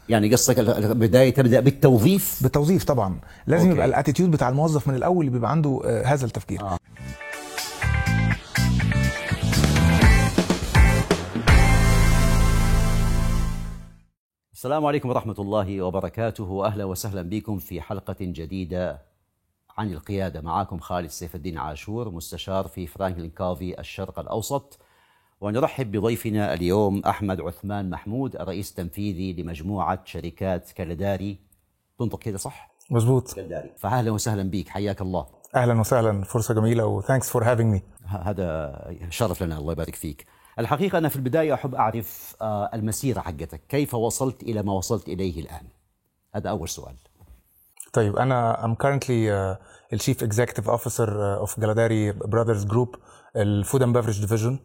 يعني قصدك البداية تبدأ بالتوظيف؟ بالتوظيف طبعا، لازم يبقى الاتيتيود بتاع الموظف من الاول اللي بيبقى عنده هذا التفكير. السلام عليكم ورحمة الله وبركاته، أهلا وسهلا بكم في حلقة جديدة عن القيادة. معكم خالد سيف الدين عاشور، مستشار في فرانكلين كوفي الشرق الأوسط، ونرحب بضيفنا اليوم أحمد عثمان محمود، الرئيس التنفيذي لمجموعة شركات كالداري. تنطق كده صح؟ مظبوط، كالداري. فأهلا وسهلا بك، حياك الله. أهلا وسهلا، فرصة جميلة وثانكس فور هافينج مي. هذا شرف لنا، الله يبارك فيك. الحقيقة أنا في البداية أحب أعرف المسيرة حقتك، كيف وصلت إلى ما وصلت إليه الآن؟ هذا أول سؤال. طيب، أنا I'm currently the Chief Executive Officer of Galadari Brothers Group, الفود اند بيفرج ديفيجن.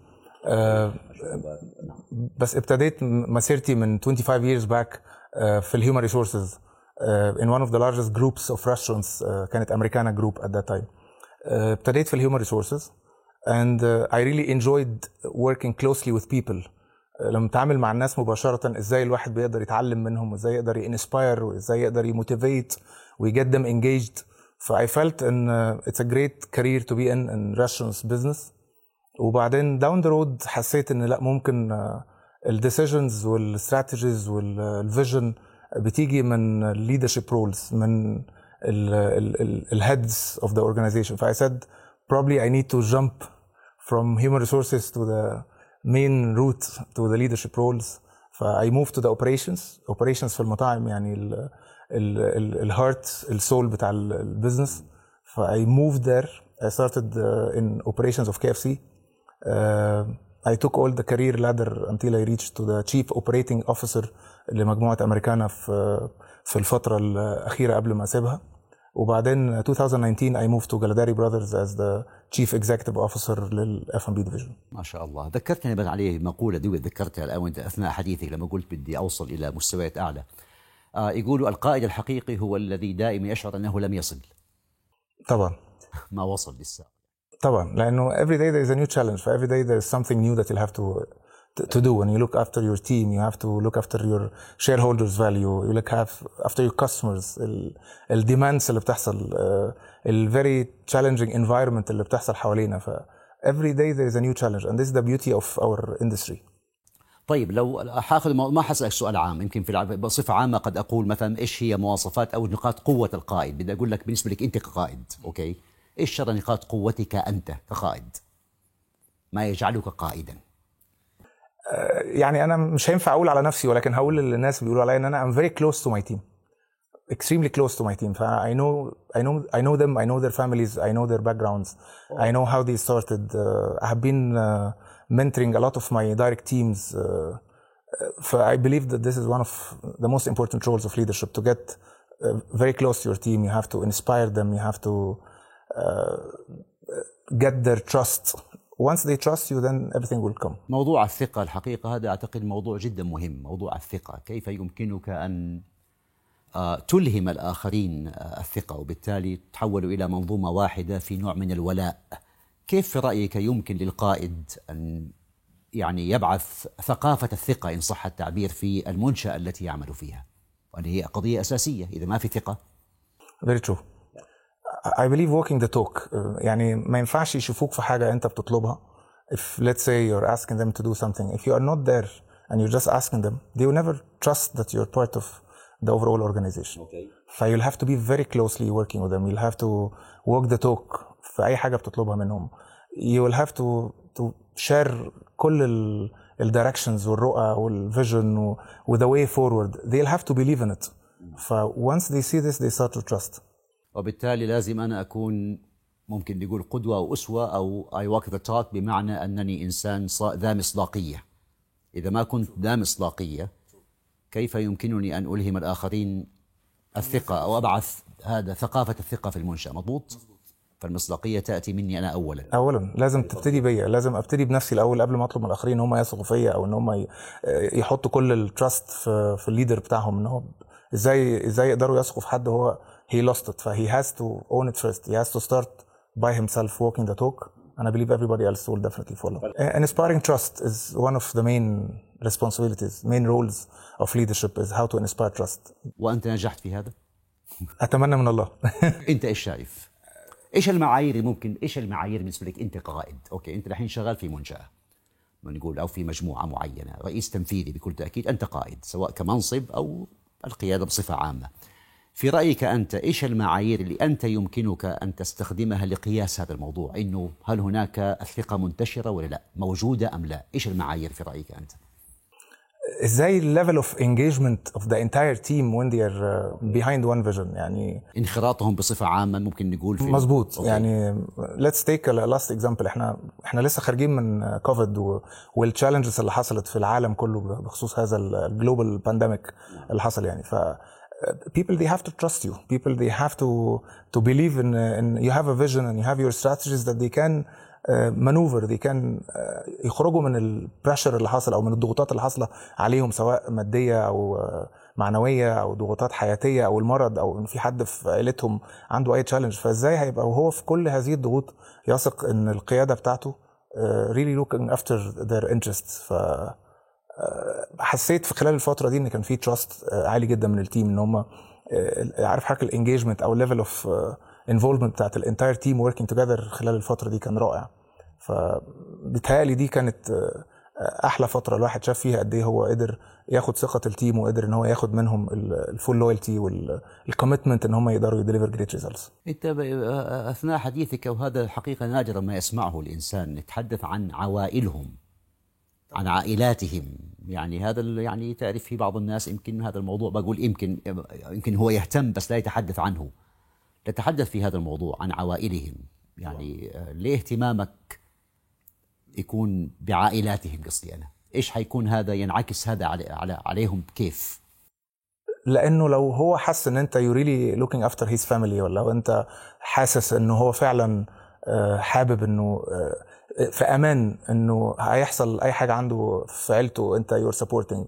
بس ابتديت مسيرتي من 25 years back في الهيومن ريسورسز in one of the largest groups of restaurants. كانت أمريكانا جروب at that time. ابتديت في الهيومن ريسورسز and I really enjoyed working closely with people. لما اتعامل مع الناس مباشرة، ازاي الواحد بيقدر يتعلم منهم، وازاي يقدر ينسباير، وازاي يقدر يموتيفيت ويجت them engaged. ف I felt ان it's a great career to be in restaurants business. وبعدين down the road حسيت ان لا، ممكن الديسيجنز والستراتيجيز والفيجن بتيجي من leadership roles، من الهيدز of the organization. ف I said probably I need to jump from human resources to the main route to the leadership roles. I moved to the operations في المطاعم، يعني الهارت السول بتاع البيزنس. I moved there. I started in operations of KFC. I took all the career ladder until I reached to the chief operating officer لمجموعة أمريكانا في الفترة الأخيرة قبل ما أسيبها. وبعدين 2019 I moved to Galadari Brothers as the Chief Executive Officer لل F&B Division. ما شاء الله. ذكرتني بس عليه مقولة دي ذكرتها الآن وأنت أثناء حديثك لما قلت بدي أوصل إلى مستويات أعلى. يقولوا القائد الحقيقي هو الذي دائما يشعر أنه لم يصل. طبعا. ما وصل لسه. طبعا، لأنه every day there is a new challenge. For every day there is something new that you'll have to do. When you look after your team, you have to look after your shareholders' value. You look after your customers. الdemands اللي بتحصل, very challenging environment اللي بتحصل حوالينا. ف every day there is a new challenge, and this is the beauty of our industry. طيب، لو حاخذ ما حسألك سؤال عام، يمكن بصفة عامة قد أقول مثلا إيش هي مواصفات أو نقاط قوة القائد. بدي أقول لك بالنسبة لك أنت كقائد، أوكي، إيش شر نقاط قوتك أنت كقائد؟ ما يجعلك قائدا؟ يعني أنا مش هينفع أقول على نفسي، ولكن هقول للناس بيقولوا عليا إن أنا I'm very close to my team, extremely close to my team. I know them, I know their families, I know their backgrounds, I know how they started. I have been mentoring a lot of my direct teams. I believe that this is one of the most important roles of leadership, to get very close to your team. You have to inspire them, you have to get their trust. Once they trust you, then everything will come. موضوع الثقة الحقيقة هذا أعتقد موضوع جدا مهم. موضوع الثقة، كيف يمكنك أن تلهم الآخرين الثقة وبالتالي تحولوا إلى منظومة واحدة في نوع من الولاء. كيف في رأيك يمكن للقائد أن يعني يبعث ثقافة الثقة إن صح التعبير في المنشأة التي يعمل فيها، وهذه هي قضية أساسية. إذا ما في ثقة. Very true. I believe walking the talk. يعني ما ينفعش يشوفوك في حاجة أنت بتطلبها. If let's say you're asking them to do something, if you are not there and you're just asking them, they will never trust that you're part of the overall organization. Okay. You'll have to be very closely working with them. You'll have to walk the talk في أي حاجة بتطلبها منهم. You will have to share كل directions والرؤى والvision with the way forward. They'll have to believe in it. Once they see this, they start to trust. وبالتالي لازم أنا أكون ممكن نقول قدوة أو أسوة أو I walk the talk، بمعنى أنني إنسان ذا مصداقية. إذا ما كنت ذا مصداقية، كيف يمكنني أن ألهم الآخرين الثقة أو أبعث هذا ثقافة الثقة في المنشأة؟ مضبوط. فالمصداقية تأتي مني أنا أولا لازم تبتدي بيا، لازم أبتدي بنفسي الأول قبل ما أطلب من الآخرين إن هم يثقوا فيا، أو إن هم يحطوا كل التراست في الليدر بتاعهم. إن هو إزاي يقدروا يثقوا في حد هو he lost it. He has to own it first. He has to start by himself walking the talk and I believe everybody else will definitely follow. And inspiring trust is one of the main responsibilities, main roles of leadership is how to inspire trust. وأنت نجحت في هذا؟ أتمنى من الله. أنت إيش شايف؟ إيش المعايير بالنسبة لك أنت كقائد؟ أوكي، أنت الحين شغال في منشأة نقول أو في مجموعة معينة، رئيس تنفيذي بكل تأكيد، أنت قائد سواء كمنصب أو القيادة بصفة عامة. في رأيك أنت إيش المعايير اللي أنت يمكنك أن تستخدمها لقياس هذا الموضوع؟ إنه هل هناك الثقة منتشرة ولا لا؟ موجودة أم لا؟ إيش المعايير في رأيك أنت؟ ازاي level of engagement of the entire team when they are behind one vision، يعني انخراطهم بصفة عامة ممكن نقول في مظبوط. يعني let's take a last example. احنا لسه خارجين من كوفيد والchallenges اللي حصلت في العالم كله بخصوص هذا الجلوبال بانديميك اللي حصل. يعني ف people they have to trust you, people they have to believe in you have a vision and you have your strategies that they can maneuver, they can يخرجوا من البريشر اللي حصل او من الضغوطات اللي حاصله عليهم سواء ماديه او معنويه او ضغوطات حياتيه او المرض او ان في حد في عائلتهم عنده اي تشالنج. فازاي هيبقى وهو في كل هذه الضغوط يثق ان القياده بتاعته really looking after their interests. ف حسيت في خلال الفتره دي ان كان في تراست عالي جدا من التيم، ان هم عارف حركه الانجيجمنت او ليفل اوف انفولفمنت بتاعت الانتاير تيم وركينج توجذر خلال الفتره دي كان رائع. فبالتالي دي كانت احلى فتره الواحد شاف فيها قد ايه هو قدر ياخد ثقه التيم وقدر ان هو ياخد منهم الفول لويالتي والكوميتمنت ان هم يقدروا يديليفر جريت ريزلتس. انت اثناء حديثك، وهذا الحقيقه نادرا ما يسمعه الانسان، نتحدث عن عوائلهم، عن عائلاتهم. يعني هذا يعني تعرف في بعض الناس يمكن هذا الموضوع بقول يمكن هو يهتم بس لا يتحدث عنه. تتحدث في هذا الموضوع عن عوائلهم، يعني ليه اهتمامك يكون بعائلاتهم؟ قصدي أنا إيش حيكون هذا ينعكس هذا عليهم كيف؟ لأنه لو هو حس إن أنت you really looking after his family، ولا لو أنت حاسس إنه هو فعلا حابب إنه في أمان إنه هيحصل أي حاجة عنده في عيلته أنت you're supporting،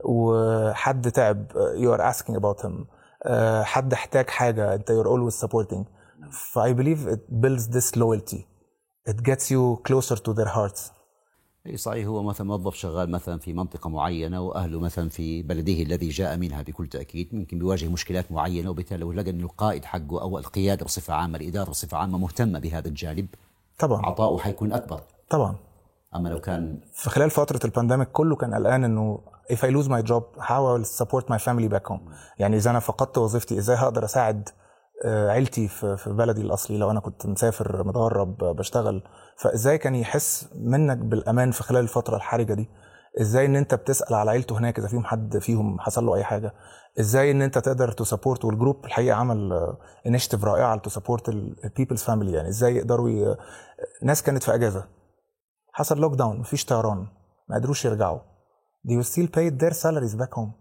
وحد تعب you are asking about him، حد احتاج حاجة أنت you're always supporting. I believe it builds this loyalty. It gets you closer to their hearts. صحيح. هو مثلا موظف شغال مثلا في منطقة معينة وأهله مثلا في بلده الذي جاء منها بكل تأكيد ممكن بيواجه مشكلات معينة، وبالتالي لو لقى أن القائد حقه أو القيادة بصفة عامة، الإدارة بصفة عامة مهتمة بهذا الجانب، طبعا عطاؤه حيكون أكبر طبعا. أما لو كان في خلال فترة البانديميك كله كان قلقان إنه if I lose my job how I will support my family back home. يعني إذا أنا فقدت وظيفتي إزاي هقدر أساعد عيلتي في بلدي الأصلي لو أنا كنت مسافر متغرب بشتغل. فإزاي كان يحس منك بالأمان في خلال الفترة الحرجة دي؟ إزاي إن أنت بتسأل على عيلته هناك إذا فيهم حد فيهم حصل له أي حاجة؟ إزاي إن أنت تقدر تسابورت؟ والجروب الحقيقة عمل initiative رائعة لتسابورت البيبلز فاميلي. يعني إزاي يقدروا ناس كانت في أجازة، حصل لوك داون، مفيش طيران، ما قدروش يرجعوا، they will still paid their salaries back home.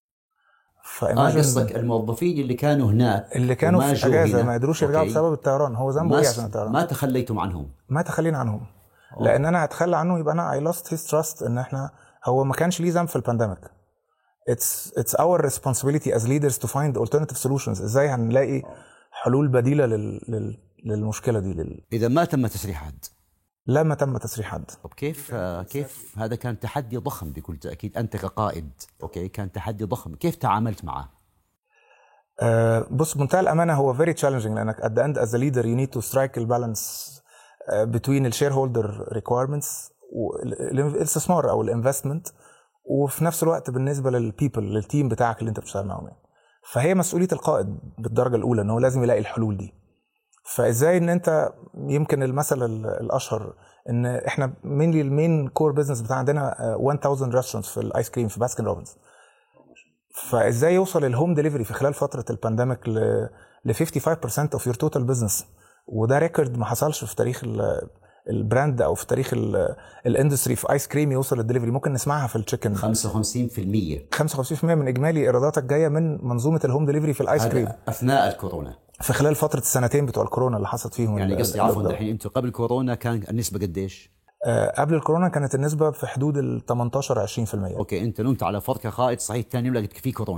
قصدك الموظفين اللي كانوا هناك اللي كانوا في اجازه ما قدروش يرجعوا بسبب الطيران، هو ذنبه ايه عشان الطيران؟ ما تخليتم عنهم؟ ما تخلينا عنهم. لان انا هتخلى عنه يبقى انا I lost his trust. ان احنا هو ما كانش ليه ذنب في البانديميك. It's our responsibility as leaders to find alternative solutions. ازاي هنلاقي حلول بديله للمشكله دي اذا ما تم تسريح حد؟ لا، ما تم تسريح حد. طب كيف هذا كان تحدي ضخم بكل تأكيد، أنت كقائد أوكي كان تحدي ضخم، كيف تعاملت معه؟ بص، بمنتهى الأمانة هو very challenging، لأنك at the end as a leader you need to strike the balance between the shareholder requirements والاستثمار أو الانفستمنت، وفي نفس الوقت بالنسبة للتيم بتاعك اللي أنت بتشتغل معهم. يعني فهي مسؤولية القائد بالدرجة الأولى إن هو لازم يلاقي الحلول دي. فازاي ان انت يمكن المثل الاشهر ان احنا المين كور بزنس بتاع عندنا 1000 ريستورانتس في الايس كريم في باسكن روبنز. فازاي يوصل الهوم ديليفري في خلال فتره البانديميك ل 55% اوف يور توتال بزنس، وده ريكورد ما حصلش في تاريخ البراند او في تاريخ الاندستري في ايس كريم يوصل الدليفري. ممكن نسمعها في التشيكن 55% من اجمالي ايراداتك جايه من منظومه الهوم ديليفري في الايس كريم اثناء الكورونا، في خلال فتره السنتين بتوع الكورونا اللي حصلت فيهم. يعني قصدي عفوا الحين انتم قبل كورونا كان النسبه قديش؟ قبل الكورونا كانت النسبه في حدود ال 18-20%. اوكي، انت نمت على فرق قائد صحيح، ثاني يوم لقيت في كورونا.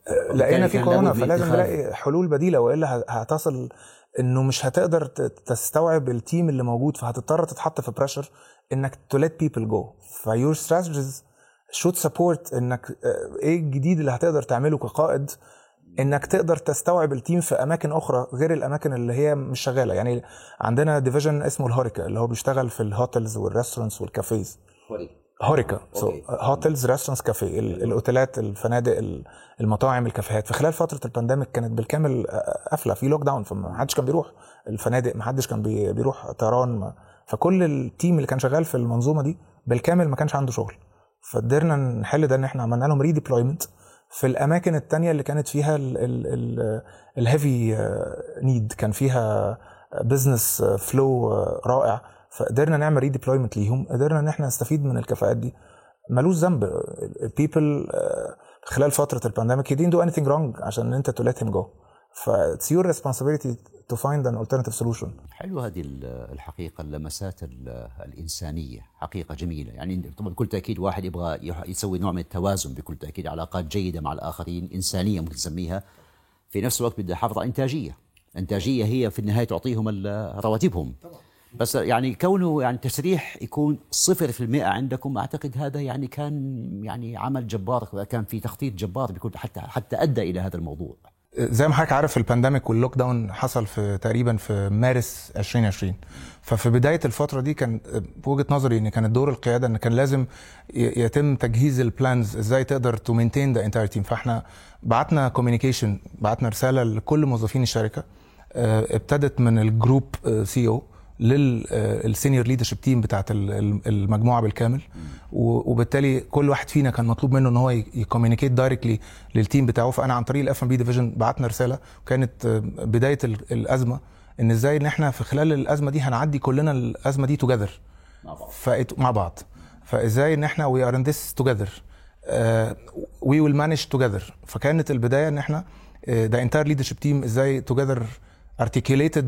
لقينا في كورونا، فلازم نلاقي حلول بديله، والا هتصل انه مش هتقدر تستوعب التيم اللي موجود، فهتضطر تتحط في بريشر انك to let people go. فيور strategies should support انك ايه الجديد اللي هتقدر تعمله كقائد، انك تقدر تستوعب التيم في اماكن اخرى غير الاماكن اللي هي مش شغاله. يعني عندنا ديفيجن اسمه الهوريكا اللي هو بيشتغل في الهوتيلز والريستورانتس والكافيز. هوريكا هوتيلز ريستورانتس كافيه، الاوتيلات، الفنادق، المطاعم، الكافيهات. في خلال فتره البانديميك كانت بالكامل قافله، في لوك داون، فما حدش كان بيروح الفنادق، ما حدش كان بيروح طيران، فكل التيم اللي كان شغال في المنظومه دي بالكامل ما كانش عنده شغل. فقدرنا نحل ده ان احنا عملنا لهم ريديبلويمنت في الاماكن التانية اللي كانت فيها الهيفي نيد، كان فيها بزنس فلو رائع، فقدرنا نعمل ريديبلويمنت ليهم، قدرنا ان احنا نستفيد من الكفاءات دي. ملوش ذنب people خلال فتره البانديميك he didn't do anything wrong عشان انت to let him go. ف it's your responsibility to find an alternative solution. حلو هذه الحقيقه، اللمسات الانسانيه حقيقه جميله. يعني طبعا بكل تاكيد واحد يبغى يسوي نوع من التوازن، بكل تاكيد علاقات جيده مع الاخرين، انسانيه ممكن تسميها، في نفس الوقت بدها حافظ على انتاجيه هي في النهايه تعطيهم رواتبهم. بس يعني كونه يعني تسريح يكون 0% عندكم، اعتقد هذا يعني كان يعني عمل جبار، كان في تخطيط جبار بيكون حتى ادى الى هذا الموضوع. زي ما حضرتك عارف البانديميك واللوك داون حصل في تقريبا في مارس 2020. ففي بدايه الفتره دي كان بوجهه نظري ان كان دور القياده ان كان لازم يتم تجهيز البلانز ازاي تقدر تو مينتين ذا انتاير تيم. فاحنا بعتنا كوميونيكيشن، بعتنا رساله لكل موظفين الشركه، ابتدت من الجروب سي او للسينيور ليدرشيب تيم بتاعت المجموعه بالكامل، وبالتالي كل واحد فينا كان مطلوب منه ان هو يكوميونيكيت دايركتلي للتيم بتاعه. فانا عن طريق الاف ام بي ديفيجن بعتنا رساله، وكانت بدايه الازمه ان ازاي ان احنا في خلال الازمه دي هنعدي كلنا الازمه دي توجذر مع بعض. فازاي ان احنا وي ار ان ذس توجذر، وي ويل مانج توجذر. فكانت البدايه ان احنا ذا انتاير ليدرشيب تيم ازاي توجذر articulated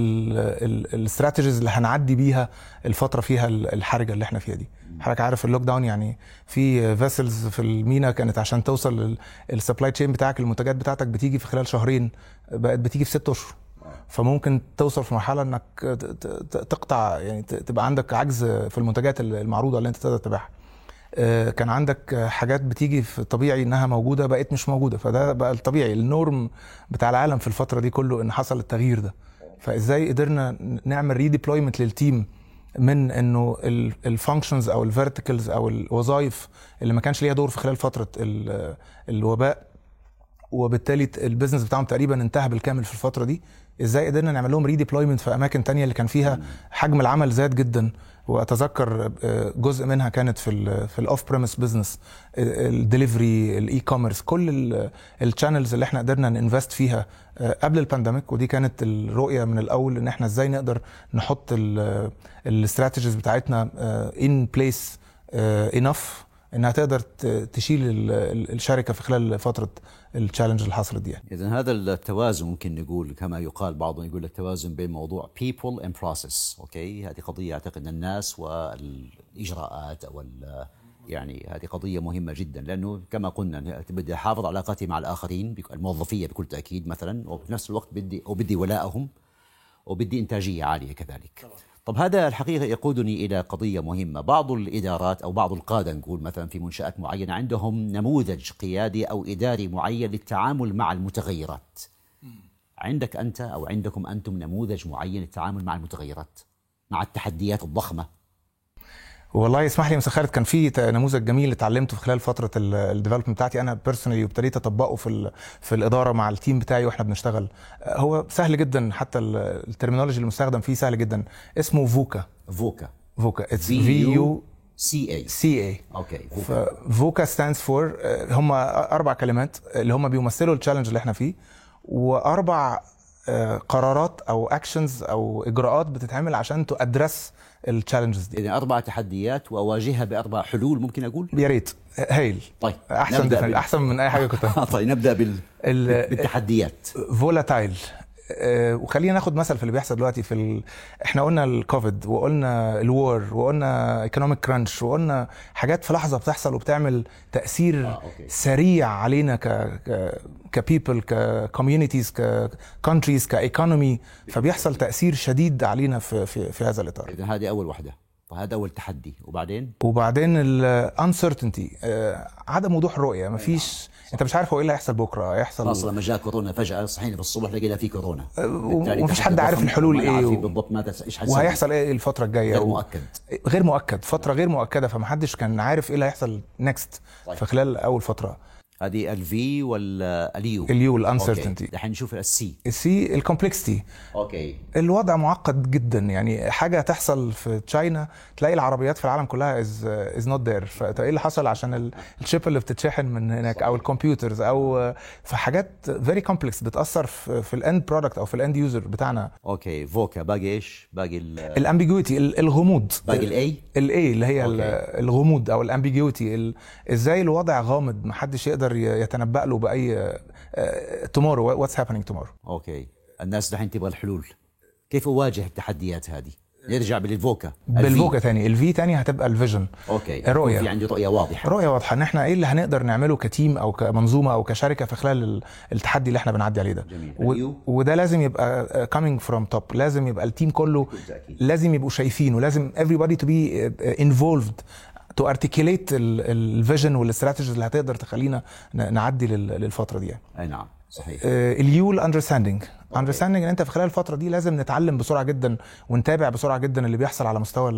الاستراتيجيز اللي هنعدي بيها الفتره فيها الحرجه اللي احنا فيها دي. حضرتك عارف اللوك داون، يعني في فيسلز في المينا كانت عشان توصل السبلاي تشين بتاعك، المنتجات بتاعتك بتيجي في خلال شهرين، بقت بتيجي في 6 اشهر. فممكن توصل في مرحله انك تقطع، يعني تبقى عندك عجز في المنتجات المعروضه اللي انت تقدر تبيعها. كان عندك حاجات بتيجي في طبيعي انها موجوده بقت مش موجوده، فده بقى الطبيعي النورم بتاع العالم في الفتره دي كله ان حصل التغيير ده. فازاي قدرنا نعمل ريديبلويمنت للتيم من انه الفانكشنز او الفيرتيكلز او الوظائف اللي ما كانش ليها دور في خلال فتره الوباء، وبالتالي البيزنس بتاعهم تقريبا انتهى بالكامل في الفتره دي، ازاي قدرنا نعمل لهم ريديبلويمنت في اماكن تانية اللي كان فيها حجم العمل زاد جدا. واتذكر جزء منها كانت في الاوف بريمس بزنس، الدليفري، الاي كوميرس، كل الشانلز اللي احنا قدرنا ننفست فيها قبل البانديميك. ودي كانت الرؤيه من الاول ان احنا ازاي نقدر نحط الاستراتيجيز بتاعتنا ان بليس انف انها تقدر تشيل الشركه في خلال فتره التشالنج اللي حصلت دي. اذا هذا التوازن ممكن نقول كما يقال، بعضهم يقول التوازن بين موضوع people and process. اوكي، هذه قضيه اعتقد الناس والاجراءات او يعني هذه قضيه مهمه جدا، لانه كما قلنا بدي احافظ علاقاتي مع الاخرين الموظفيه بكل تاكيد مثلا، وفي نفس الوقت بدي ولائهم، وبدي انتاجيه عاليه كذلك. طب هذا الحقيقة يقودني إلى قضية مهمة. بعض الإدارات أو بعض القادة نقول مثلا في منشآت معينة عندهم نموذج قيادي أو إداري معين للتعامل مع المتغيرات. عندك أنت أو عندكم أنتم نموذج معين للتعامل مع المتغيرات، مع التحديات الضخمة؟ والله يسمح لي مسخرت، كان في نموذج جميل اتعلمته في خلال فتره الديفلوبمنت بتاعتي انا بيرسونالي، وابتديت اطبقه في الاداره مع التيم بتاعي واحنا بنشتغل. هو سهل جدا، حتى الترمينولوجي المستخدم فيه سهل جدا. اسمه فوكا. اتس VUCA. اوكي. فوكا ستاندز فور، هم 4 كلمات اللي هم بيمثلوا التشالنج اللي احنا فيه، و4 قرارات او اكشنز او اجراءات بتتعمل عشان تأدرس التشالنجز دي. إذن 4 تحديات واواجهها ب4 حلول، ممكن اقول؟ يا ريت. هايل. طيب احسن من اي حاجه كنت طيب نبدا بالتحديات. فولاتايل، وخلينا ناخد مثل في اللي بيحصل دلوقتي احنا قلنا الكوفيد وقلنا الوار وقلنا ايكونوميك كرانش وقلنا حاجات في لحظه بتحصل وبتعمل تاثير سريع علينا كبيبل ككوميونيتيز ككونتريز كايكونومي، فبيحصل تاثير شديد علينا في هذا الاطار. اذا هذه اول وحده، فهذا اول تحدي. وبعدين الانسرتينتي، عدم وضوح الرؤيه، مفيش، انت مش عارف هو ايه اللي هيحصل بكره، هيحصل خلاص لما جاء كورونا فجاه صحينا في الصبح لقينا في كورونا ومفيش حد عارف الحلول ايه بالضبط ماذا ايش هيحصل وهيحصل ايه الفتره الجايه، غير مؤكد فتره غير مؤكده، فمحدش كان عارف ايه اللي هيحصل نكست في خلال اول فتره. هذه الفي ولا اليو الانسرتينتي. رح نشوف السي الكومبلكسيتي. اوكي، الوضع معقد جدا، يعني حاجه تحصل في تشاينا تلاقي العربيات في العالم كلها از نوت ذير، فايه اللي حصل عشان الشيب اللي بتتشحن من هناك او الكمبيوترز او في حاجات فيري كومبلكس بتاثر في الاند برودكت او في الاند يوزر بتاعنا. اوكي، فوكا باقي ايش؟ باقي الامبيجويتي، الغموض، باقي الاي اللي هي الغموض او الامبيجويتي، ازاي الوضع غامض محدش يقدر يتنبأ له بأي tomorrow what's happening tomorrow. اوكي، الناس دحين تبغى الحلول، كيف اواجه التحديات هذه؟ نرجع بالفوكا تاني، الفي تاني هتبقى الفيجن. اوكي، الرؤيه، في عندي رؤيه واضحه ان احنا ايه اللي هنقدر نعمله كتيم او كمنظومه او كشركه في خلال التحدي اللي احنا بنعدي عليه ده. وده لازم يبقى coming from top، لازم يبقى التيم كله لازم يبقوا شايفين، ولازم everybody to be involved to articulate الفيجن والاستراتيجيز اللي هتقدر تخلينا نعدي للفتره دي يعني. اي نعم صحيح. اليو الاندرستاندينج ان انت في خلال الفتره دي لازم نتعلم بسرعه جدا ونتابع بسرعه جدا اللي بيحصل على مستوى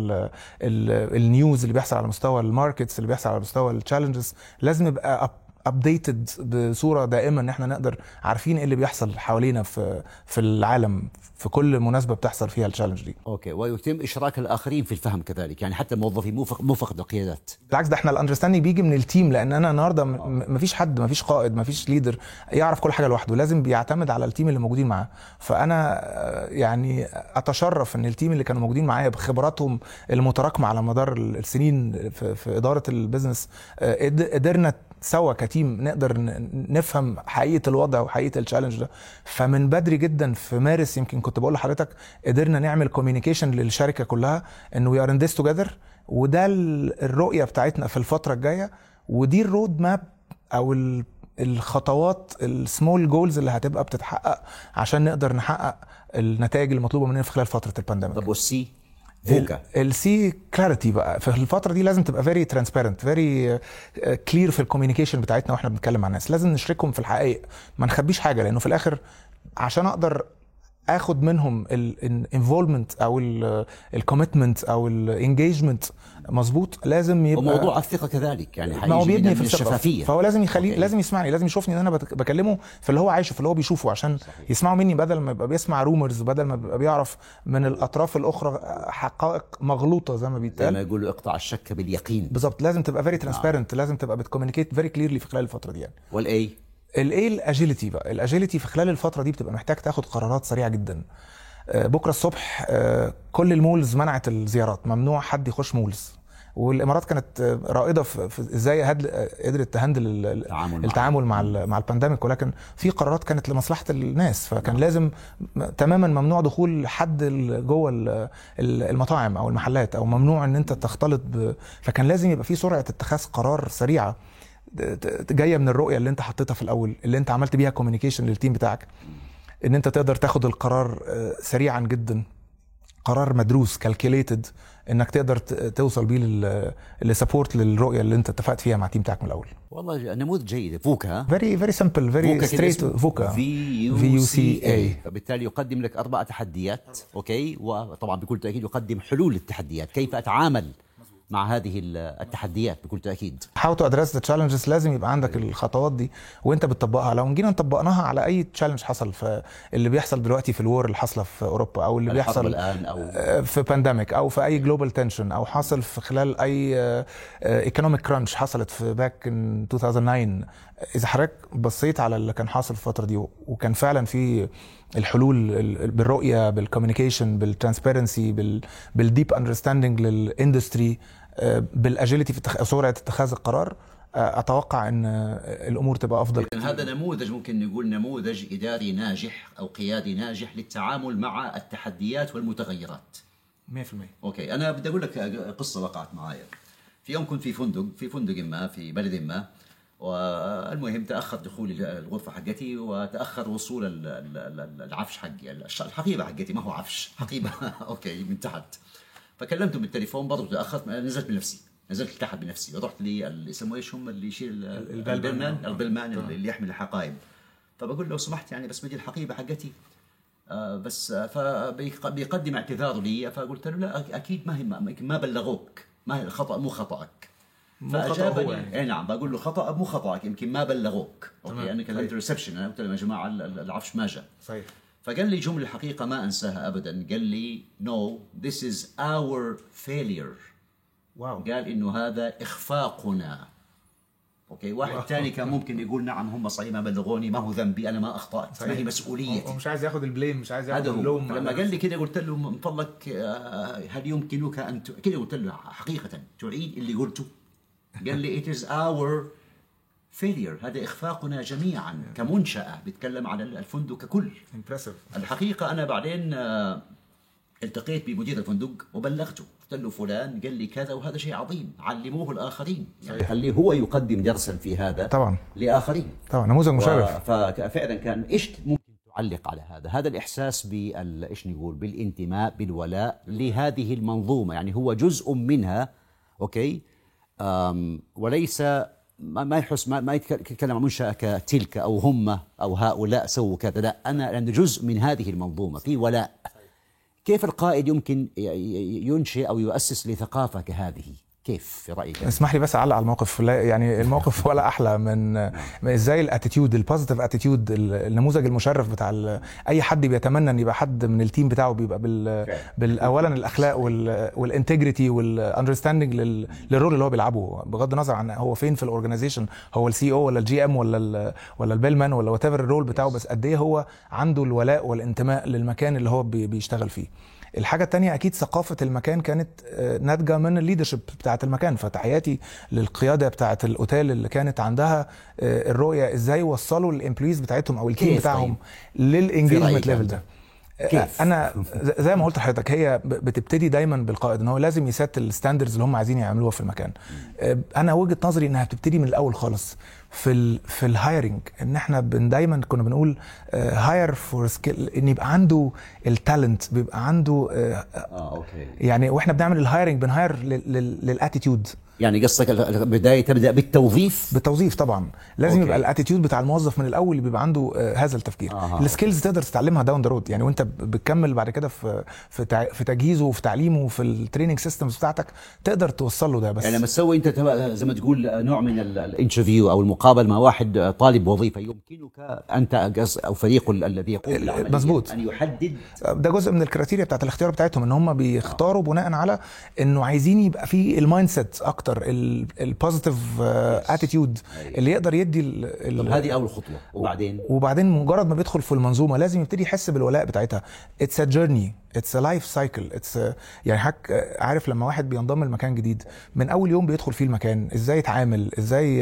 النيوز، اللي بيحصل على مستوى الماركتس، اللي بيحصل على مستوى التشالنجز، لازم نبقى ابديتد بصوره دائمه ان احنا نقدر عارفين ايه اللي بيحصل حوالينا في العالم في كل مناسبه بتحصل فيها التشالنج دي. اوكي، ويتم اشراك الاخرين في الفهم كذلك، يعني حتى الموظفين مو فقط القيادات. بالعكس، ده احنا الاندرستاندينج بيجي من التيم، لان انا النهارده مفيش حد، مفيش قائد، مفيش ليدر يعرف كل حاجه لوحده، لازم بيعتمد على التيم اللي موجودين معاه. فانا يعني اتشرف ان التيم اللي كانوا موجودين معايا بخبراتهم المتراكمه على مدار السنين في اداره البيزنس، قدرنا سوا كتيم نقدر نفهم حقيقه الوضع وحقيقه التشالنج ده. فمن بدري جدا في مارس يمكن كنت بقول لحضرتك قدرنا نعمل كوميونيكيشن للشركه كلها ان وي ار ان ذس توجذر، وده الرؤيه بتاعتنا في الفتره الجايه، ودي الرود ماب او الخطوات السمول جولز اللي هتبقى بتتحقق عشان نقدر نحقق النتائج المطلوبه مننا في خلال فتره البانديميك. طب والسي فوكا؟ السي كلاريتي بقى في الفتره دي لازم تبقى فيري ترانسبيرنت، فيري كلير في الكوميونيكيشن بتاعتنا واحنا بنتكلم مع الناس، لازم نشركهم في الحقائق، ما نخبيش حاجه، لانه في الاخر عشان اقدر اخد منهم الانفولمنت او الكوميتمنت او الانجيجمنت مظبوط، لازم يبقى وموضوع الثقه كذلك، يعني ما هو بيبني في الشفافيه، فهو لازم يخليه لازم يسمعني، لازم يشوفني ان انا بكلمه في اللي هو عايشه، في اللي هو بيشوفه، عشان صحيح. يسمعوا مني بدل ما يبقى بيسمع رومرز، بدل ما يبقى بيعرف من الاطراف الاخرى حقائق مغلوطه زي ما بيتقال، زي ما يقولوا اقطع الشك باليقين. بالظبط، لازم تبقى فيري ترانسبيرنت، لازم تبقى بتكوميونيكيت فيري كليرلي في خلال الفتره دي يعني. والاي الاجيليتي بقى، الاجيليتي في خلال الفتره دي بتبقى محتاج تاخد قرارات سريعه جدا. بكره الصبح كل المولز منعت الزيارات، ممنوع حد يخش مولز، والامارات كانت رائده في ازاي قدرت تهندل التعامل مع البانديميك، ولكن في قرارات كانت لمصلحه الناس، فكان لازم تماما ممنوع دخول حد جوه المطاعم او المحلات، او ممنوع ان انت تختلط فكان لازم يبقى في سرعه اتخاذ قرار سريعه جايه من الرؤيه اللي انت حطيتها في الاول، اللي انت عملت بيها كوميونيكيشن للتيم بتاعك، ان انت تقدر تاخد القرار سريعا جدا، قرار مدروس كالكوليتد، انك تقدر توصل بيه للسبورت للرؤيه اللي انت اتفقت فيها مع التيم بتاعك من الاول. والله نموذج جيد. فوكا فيري سمبل، فيري ستريت، فوكا VUCA، فبالتالي يقدم لك 4 تحديات. اوكي، وطبعا بكل تاكيد يقدم حلول للتحديات، كيف اتعامل مع هذه التحديات بكل تأكيد. How to address the challenges، لازم يبقى عندك الخطوات دي وانت بتطبقها. لو جينا نطبقناها على اي تشالنج حصل، في اللي بيحصل دلوقتي في الوار اللي حاصله في اوروبا، او اللي بيحصل الآن أو في بانديميك، او في اي جلوبال تنشن، او حاصل في خلال اي ايكونوميك كرانش حصلت في باك ان 2009، اذا حضرتك بصيت على اللي كان حاصل في الفتره دي، وكان فعلا في الحلول بالرؤيه، بالكوميونيكيشن، بالترانسبيرنسي، بالديب اندرستاندينج للاندستري، بالاجيليتي في سرعه اتخاذ القرار، اتوقع ان الامور تبقى افضل. هذا نموذج، ممكن نقول نموذج اداري ناجح او قيادي ناجح للتعامل مع التحديات والمتغيرات. 100%. اوكي، انا بدي اقول لك قصه وقعت معايا. في يوم كنت في فندق ما في بلد ما، والمهم تاخر دخولي الغرفه حقتي وتاخر وصول العفش حقي، الحقيبه حقتي، ما هو عفش، حقيبه اوكي من تحت. فكلمته بالتليفون، برضه تاخرت، نزلت بنفسي، نزلت تحت بنفسي ورحت لي يسموه ايش هم اللي يشيل البلمان اللي يحمل الحقائب. فبقول له سمحت يعني بس بدي الحقيبه حقتي بس. فبيقدم اعتذار لي، فقلت له لا اكيد ما بلغوك، ما الخطا مو خطأك. فاجابني يعني. نعم، بقول له خطأ مو خطأك، يمكن ما بلغوك. اوكي، انا كلمت ريسبشن، انا قلت لهم يا جماعه العفش ما جاء. صحيح. فقال لي جمله الحقيقه ما انساها ابدا، قال لي no this is our failure. واو. قال انه هذا اخفاقنا. اوكي، واحد ثاني كان ممكن يقول نعم هم صحيح ما بلغوني، ما هو ذنبي، انا ما اخطات، ما هي مسؤوليتي. ومش عايز ياخذ البليم، مش عايز ياخذ اللوم. لما قال لي كده قلت له من فضلك هل يمكنك ان كده، قلت له حقيقه تعيد اللي قلته؟ قال لي it is our failure، هذا اخفاقنا جميعا كمنشأة، بيتكلم عن الفندق ككل. الحقيقه انا بعدين التقيت بمدير الفندق وبلغته، قلت له فلان قال لي كذا وهذا شيء عظيم، علموه الآخرين، يعني خليه هو يقدم درسا في هذا طبعا لآخرين. طبعا نموذج مشرف. ففعلا كان ايش ممكن تعلق على هذا الإحساس ايش نقول بالانتماء بالولاء لهذه المنظومة، يعني هو جزء منها. اوكي، وليس ما يحس ما يتكلم عن منشأة كتلك او هم او هؤلاء سووا كذا، لا، انا جزء من هذه المنظومة، في ولاء. كيف القائد يمكن ينشئ أو يؤسس لثقافة كهذه؟ كيف في رأيك؟ اسمح لي بس أعلق على الموقف. يعني الموقف ولا أحلى من إزاي الاتيتيود، البوزيتيف اتيتيود، النموذج المشرف بتاع أي حد بيتمنى أن يبقى حد من التيم بتاعه بيبقى أولا الأخلاق والانتجريتي والاندرستاندينج للرول اللي هو بيلعبه، بغض النظر عن هو فين في الأورجنايزيشن، هو السي او ولا الجي ام ولا البيلمان ولا وات ايفر الرول بتاعه، بس قد إيه هو عنده الولاء والانتماء للمكان اللي هو بيشتغل فيه. الحاجة التانية أكيد ثقافة المكان كانت ناتجة من الليدرشيب بتاعة المكان. فتحياتي للقيادة بتاعة الأوتيل اللي كانت عندها الرؤية إزاي يوصلوا الامبلويز بتاعتهم أو التيم بتاعهم للإنجيجمنت ليفل ده. كيف؟ أنا زي ما قلت لحضرتك، هي بتبتدي دايما بالقائد، إن هو لازم يسات الستاندرز اللي هم عايزين يعملوها في المكان. أنا وجهة نظري إنها بتبتدي من الأول خالص في الهايرنج، ان احنا دايما كنا بنقول هاير فور سكيل، ان يبقى عنده التالنت، بيبقى عنده اوكي. يعني واحنا بنعمل الهايرنج بنهاير للاتيتيود. يعني قصدك البدايه تبدا بالتوظيف طبعا لازم يبقى الاتيتيود بتاع الموظف من الاول اللي بيبقى عنده هذا التفكير. السكيلز تقدر تتعلمها داون ذا رود، يعني وانت بتكمل بعد كده في تجهيزه وفي تعليمه وفي التريننج سيستمز بتاعتك تقدر توصل له ده. بس يعني لما تسوي انت زي ما تقول نوع من الانترفيو او المقابله مع واحد طالب وظيفه، يمكنك انت او فريق الذي يقوم بالعمليه مظبوط ان يحدد، ده جزء من الكريتيريا بتاعت الاختيار بتاعتهم، ان هم بيختاروا بناء على انه عايزين يبقى في المايند سيت اكتر، البوزيتيف اتيتيود اللي يقدر يدي هذه اول خطوه. وبعدين مجرد ما بيدخل في المنظومه لازم يبتدي يحس بالولاء بتاعتها. اتس ا جيرني، اتس ا لايف سايكل، يعني عارف لما واحد بينضم لمكان جديد من اول يوم بيدخل فيه المكان، ازاي يتعامل، ازاي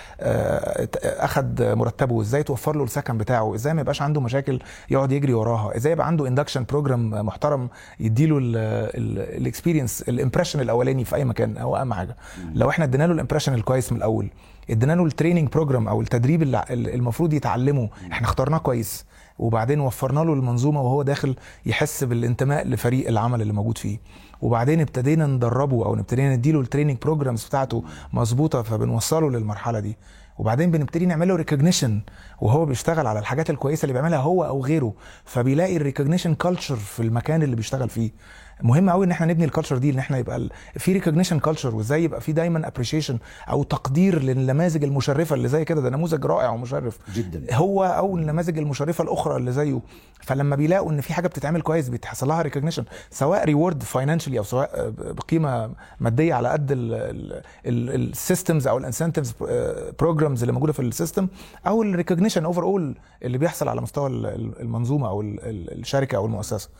اخد مرتبه، ازاي توفر له السكن بتاعه، ازاي ما يبقاش عنده مشاكل يقعد يجري وراها، ازاي يبقى عنده اندكشن بروجرام محترم يديله الاكسبيرينس، الامبريشن الاولاني في اي مكان هو اهم حاجه. لو احنا ادينا له الامبريشن الكويس من الاول، ادينا له التريننج بروجرام او التدريب اللي المفروض يتعلمه، احنا اخترناه كويس، وبعدين وفرنا له المنظومه وهو داخل يحس بالانتماء لفريق العمل اللي موجود فيه، وبعدين ابتدينا ندربه او ابتدينا نديله التريننج بروجرامز بتاعته مظبوطه، فبنوصله للمرحله دي، وبعدين بنبتدي نعمل له ريكوجنيشن وهو بيشتغل على الحاجات الكويسه اللي بيعملها هو او غيره، فبيلاقي الريكوجنيشن كلتشر في المكان اللي بيشتغل فيه. مهم قوي ان احنا نبني الكالتشر دي، ان احنا يبقى في ريكوجنيشن كالتشر، وازاي يبقى في دايما ابريشيشن او تقدير للنماذج المشرفه اللي زي كده. ده نموذج رائع ومشرف جدا، هو او النماذج المشرفه الاخرى اللي زيه. فلما بيلاقوا ان في حاجه بتتعمل كويس بيتحصل لها ريكوجنيشن، سواء ريورد فاينانشالي او سواء بقيمه ماديه على قد السيستمز او الانسنتيفز بروجرامز اللي موجوده في السيستم، او الريكوجنيشن اوفر اول اللي بيحصل على مستوى المنظومه او الشركه او المؤسسه.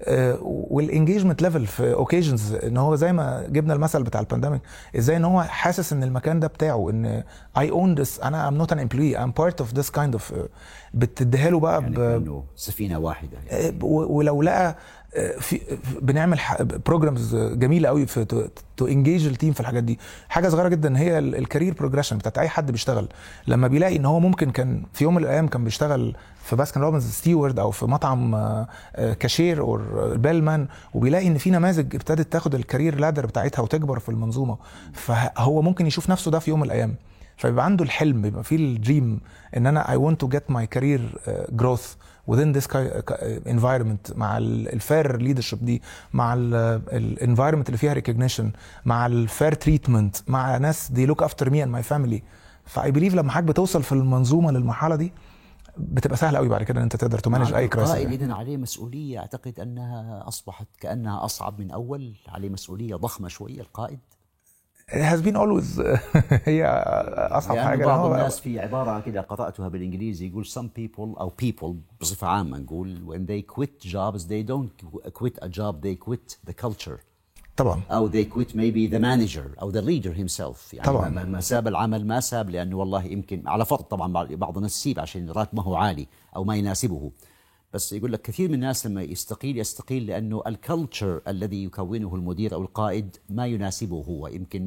والانجيجمنت ليفل في اوكيجنز، ان هو زي ما جبنا المثل بتاع البانديميك، ازاي ان هو حاسس ان المكان ده بتاعه، ان I own this، انا I'm not an employee I'm part of this kind of بتديها له بقى يعني سفينه واحده يعني. ولو لقى في بنعمل بروجرامز جميله قوي في تو انجيج التيم في الحاجات دي. حاجه صغيره جدا هي الكارير بروجريشن بتاعت اي حد بيشتغل، لما بيلاقي ان هو ممكن كان في يوم من الايام كان بيشتغل في باسكن روبنز ستيورد او في مطعم كاشير او بيلمان، وبيلاقي ان في نماذج ابتدت تاخد الكارير لادر بتاعتها وتكبر في المنظومه، فهو ممكن يشوف نفسه ده في يوم من الايام، فيبقى عنده الحلم، بيبقى فيه الدريم ان انا I want to get my career growth within this environment، مع الفير ليدرشيب دي، مع الانفايرمنت اللي فيها recognition، مع الفير تريتمنت، مع ناس they look after me and my family. فاي بليف لما حضرتك بتوصل في المنظومه للمرحله دي بتبقى سهله قوي بعد كده ان انت تقدر تمانج اي كرايسيس. القائد اذا عليه مسؤوليه، اعتقد انها اصبحت كانها اصعب من اول، عليه مسؤوليه ضخمه شويه القائد. It has been always هي اصعب يعني حاجه. بعض الناس في عباره كده قراتها بالانجليزي يقول some people او people بصفه عامه نقول when they quit jobs they don't quit a job they quit the culture طبعا، او they quit maybe the manager او the leader himself. يعني طبعا ما ساب العمل، ما ساب لانه والله يمكن على فرض طبعا بعض الناس يسيب عشان راتبه هو عالي او ما يناسبه، بس يقول لك كثير من الناس لما يستقيل لانه الكلتشر الذي يكونه المدير او القائد ما يناسبه هو،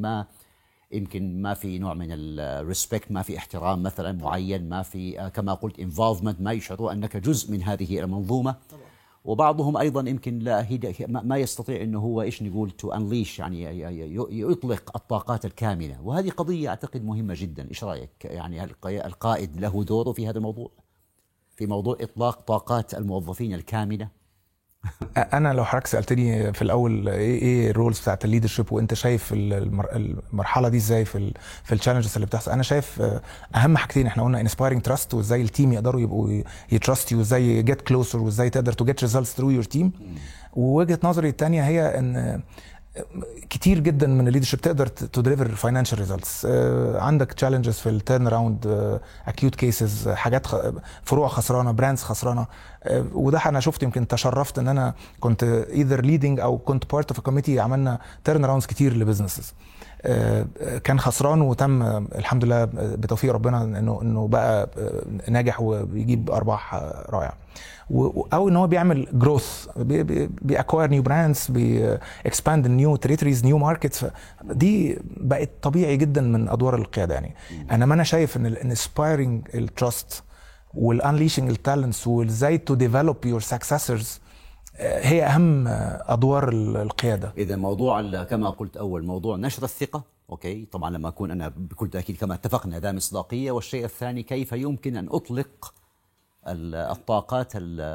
يمكن ما في نوع من الريسبكت، ما في احترام مثلا معين، ما في كما قلت انفولفمنت، ما يشعروا انك جزء من هذه المنظومه. وبعضهم ايضا يمكن لا ما يستطيع انه هو ايش نقول تو انليش، يعني يطلق الطاقات الكامنه، وهذه قضيه اعتقد مهمه جدا. ايش رايك؟ يعني القائد له دوره في هذا الموضوع، في موضوع اطلاق طاقات الموظفين الكامنه؟ انا لو حضرتك سالتني في الاول ايه الرولز بتاعت الليدرشيب وانت شايف المرحله دي ازاي في التشالنجز اللي بتحصل، انا شايف اهم حاجتين احنا قلنا انسبايرنج تراست، وازاي التيم يقدروا يبقوا يتراست يو، وازاي جيت كلوزر، وازاي تقدر تو جيت ريزلتس ثرو يور تيم. ووجهه نظري الثانيه هي ان كتير جدا من الليدرشيب تقدر تو ديليفر فاينانشال ريزلتس. عندك تشالنجز في التيرن اراوند، اكيوت كيسز، حاجات فروع خسرانه، براندز خسرانه، وده انا شفت، يمكن تشرفت ان انا كنت ايذر ليدنج او كنت بارت اوف كوميتي عملنا تيرن اراوندز كتير لبزنسز كان خسران وتم الحمد لله بتوفيق ربنا انه بقى ناجح وبيجيب ارباح رائعه، او ان هو بيعمل جروث، بيأكواير نيو براندز، بيكسباند نيو تريتوريز، نيو ماركتس. دي بقت طبيعي جدا من ادوار القياده. يعني انا ما انا شايف ان الانسبايرنج التراست والانليشنج التالنتس وازاي تو ديفلوب يور سكسسورز هي اهم ادوار القياده. اذا موضوع كما قلت اول موضوع نشر الثقه، اوكي طبعا لما اكون انا بكل تاكيد كما اتفقنا ذا مصداقيه، والشيء الثاني كيف يمكن ان اطلق الطاقات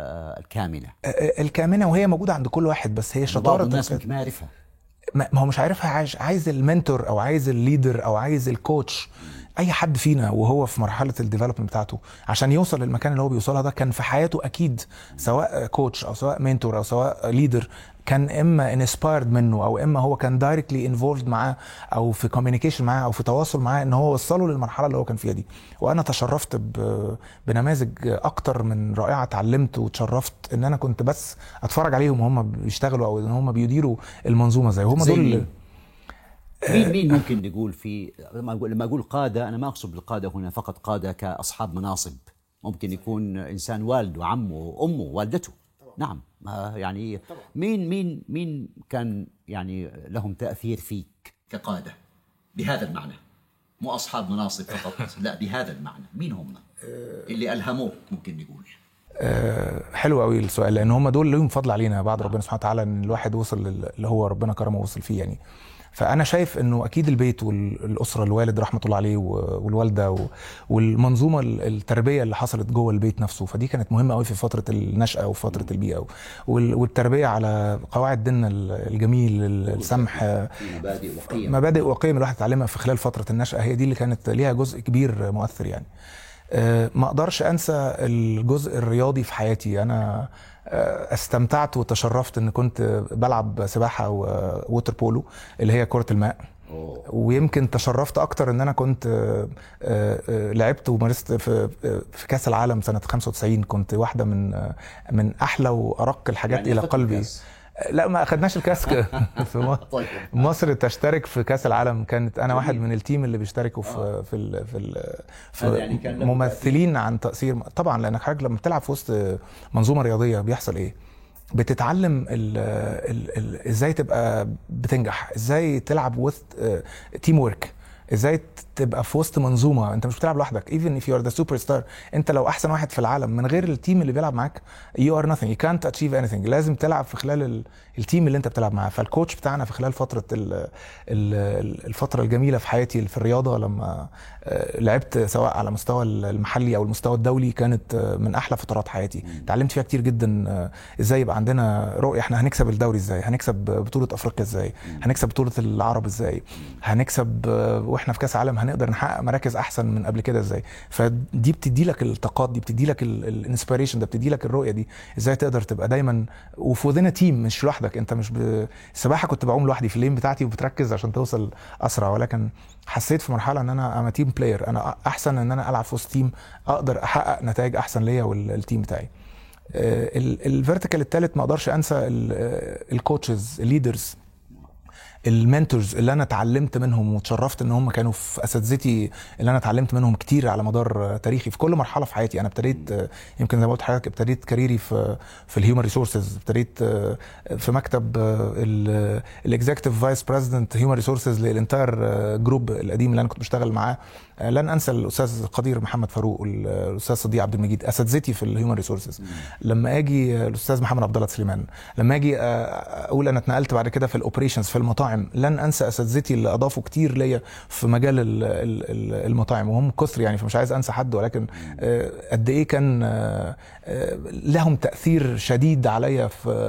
الكامنه وهي موجوده عند كل واحد، بس هي شطاره بعض الناس ممكن ما يعرفها، ما هو مش عارفها. عايز المنتور او عايز الليدر او عايز الكوتش. اي حد فينا وهو في مرحله الديفلوبمنت بتاعته عشان يوصل للمكان اللي هو بيوصلها ده كان في حياته اكيد سواء كوتش او سواء منتور او سواء ليدر كان اما انسبايرد منه او اما هو كان دايركتلي انفولد معاه او في كوميونيكيشن معاه او في تواصل معاه ان هو وصله للمرحله اللي هو كان فيها دي. وانا تشرفت بنماذج اكتر من رائعه، اتعلمت وتشرفت ان انا كنت بس اتفرج عليهم وهم بيشتغلوا او ان هم بيديروا المنظومه زي هم دول. مين ممكن نقول في لما اقول قاده، انا ما اقصد بالقاده هنا فقط قاده كاصحاب مناصب، ممكن يكون انسان والده، عمه، امه، والدته. نعم يعني مين كان يعني لهم تاثير فيك كقاده بهذا المعنى؟ مو اصحاب مناصب فقط، لا بهذا المعنى، مين هم اللي الهموك ممكن نقول؟ حلو قوي السؤال، لان هم دول لهم فضل علينا بعد ربنا سبحانه وتعالى ان الواحد وصل اللي هو ربنا كرمه ووصل فيه. يعني فانا شايف انه اكيد البيت والاسره، الوالد رحمه الله عليه والوالده والمنظومه التربيه اللي حصلت جوه البيت نفسه، فدي كانت مهمه قوي في فتره النشأه وفتره البيئه، والتربيه على قواعد ديننا الجميل، السمح، مبادئ وقيم الواحد اتعلمها في خلال فتره النشأه، هي دي اللي كانت ليها جزء كبير مؤثر. يعني ما اقدرش انسى الجزء الرياضي في حياتي. انا استمتعت وتشرفت ان كنت بلعب سباحه ووتر بولو اللي هي كره الماء. ويمكن تشرفت اكتر ان انا كنت لعبت ومارست في كاس العالم سنه 95. كنت واحده من احلى وارق الحاجات يعني الى قلبي. لا ما اخدناش الكاس في مصر تشترك في كاس العالم. كانت انا واحد من التيم اللي بيشتركوا في يعني ممثلين عن تأثير طبعا، لانك حضرتك لما بتلعب في وسط منظومه رياضيه بيحصل ايه؟ بتتعلم ازاي تبقى بتنجح، ازاي تلعب وسط تيم ورك، ازاي تبقى في وسط منظومه. انت مش بتلعب لوحدك. even if you are the superstar، انت لو احسن واحد في العالم من غير التيم اللي بيلعب معاك you are nothing، you can't achieve anything. لازم تلعب في خلال التيم اللي انت بتلعب معاه. فالكوتش بتاعنا في خلال فتره الفتره الجميله في حياتي في الرياضه لما لعبت سواء على مستوى المحلي او المستوى الدولي، كانت من احلى فترات حياتي. اتعلمت فيها كتير جدا. ازاي يبقى عندنا رؤيه، احنا هنكسب الدوري ازاي، هنكسب بطوله افريقيا ازاي، هنكسب بطوله العرب ازاي، هنكسب واحنا في كاس عالم هنقدر نحقق مراكز احسن من قبل كده ازاي. فدي بتدي لك الطاقات، دي بتدي لك الانسبيريشن، ده بتدي لك الرؤيه دي ازاي تقدر تبقى دايما وفي وذين تيم، مش لوحدك. انت مش السباحه كنت بعوم لوحدي في اللين بتاعتي وبتركز عشان توصل اسرع، ولكن حسيت في مرحله ان انا تيم بلاير، انا احسن ان انا العب في وسط تيم اقدر احقق نتائج احسن ليا والتيم بتاعي. الفيرتيكال الثالث ما اقدرش انسى الكوتشز، الليدرز، المنتورز اللي انا اتعلمت منهم وتشرفت ان هم كانوا في اساتذتي اللي انا اتعلمت منهم كتير على مدار تاريخي في كل مرحله في حياتي. انا ابتديت يمكن زي ما قلت لحضرتك ابتديت كاريري في الهيومن ريسورسز، ابتديت في مكتب الاكزيكتيف فايس بريزيدنت هيومن ريسورسز للانتاير جروب القديم اللي انا كنت بشتغل معاه. لن انسى الاستاذ قدير محمد فاروق والاستاذ صديق عبد المجيد، اساتذتي في الهيومن ريسورسز. لما اجي الاستاذ محمد عبد الله سليمان، لما اجي اقول انا اتنقلت بعد كده في الاوبريشنز في المطاعم، لن انسى اساتذتي اللي اضافوا كتير ليا في مجال المطاعم، وهم كثر يعني، فمش عايز انسى حد، ولكن قد ايه كان لهم تاثير شديد عليا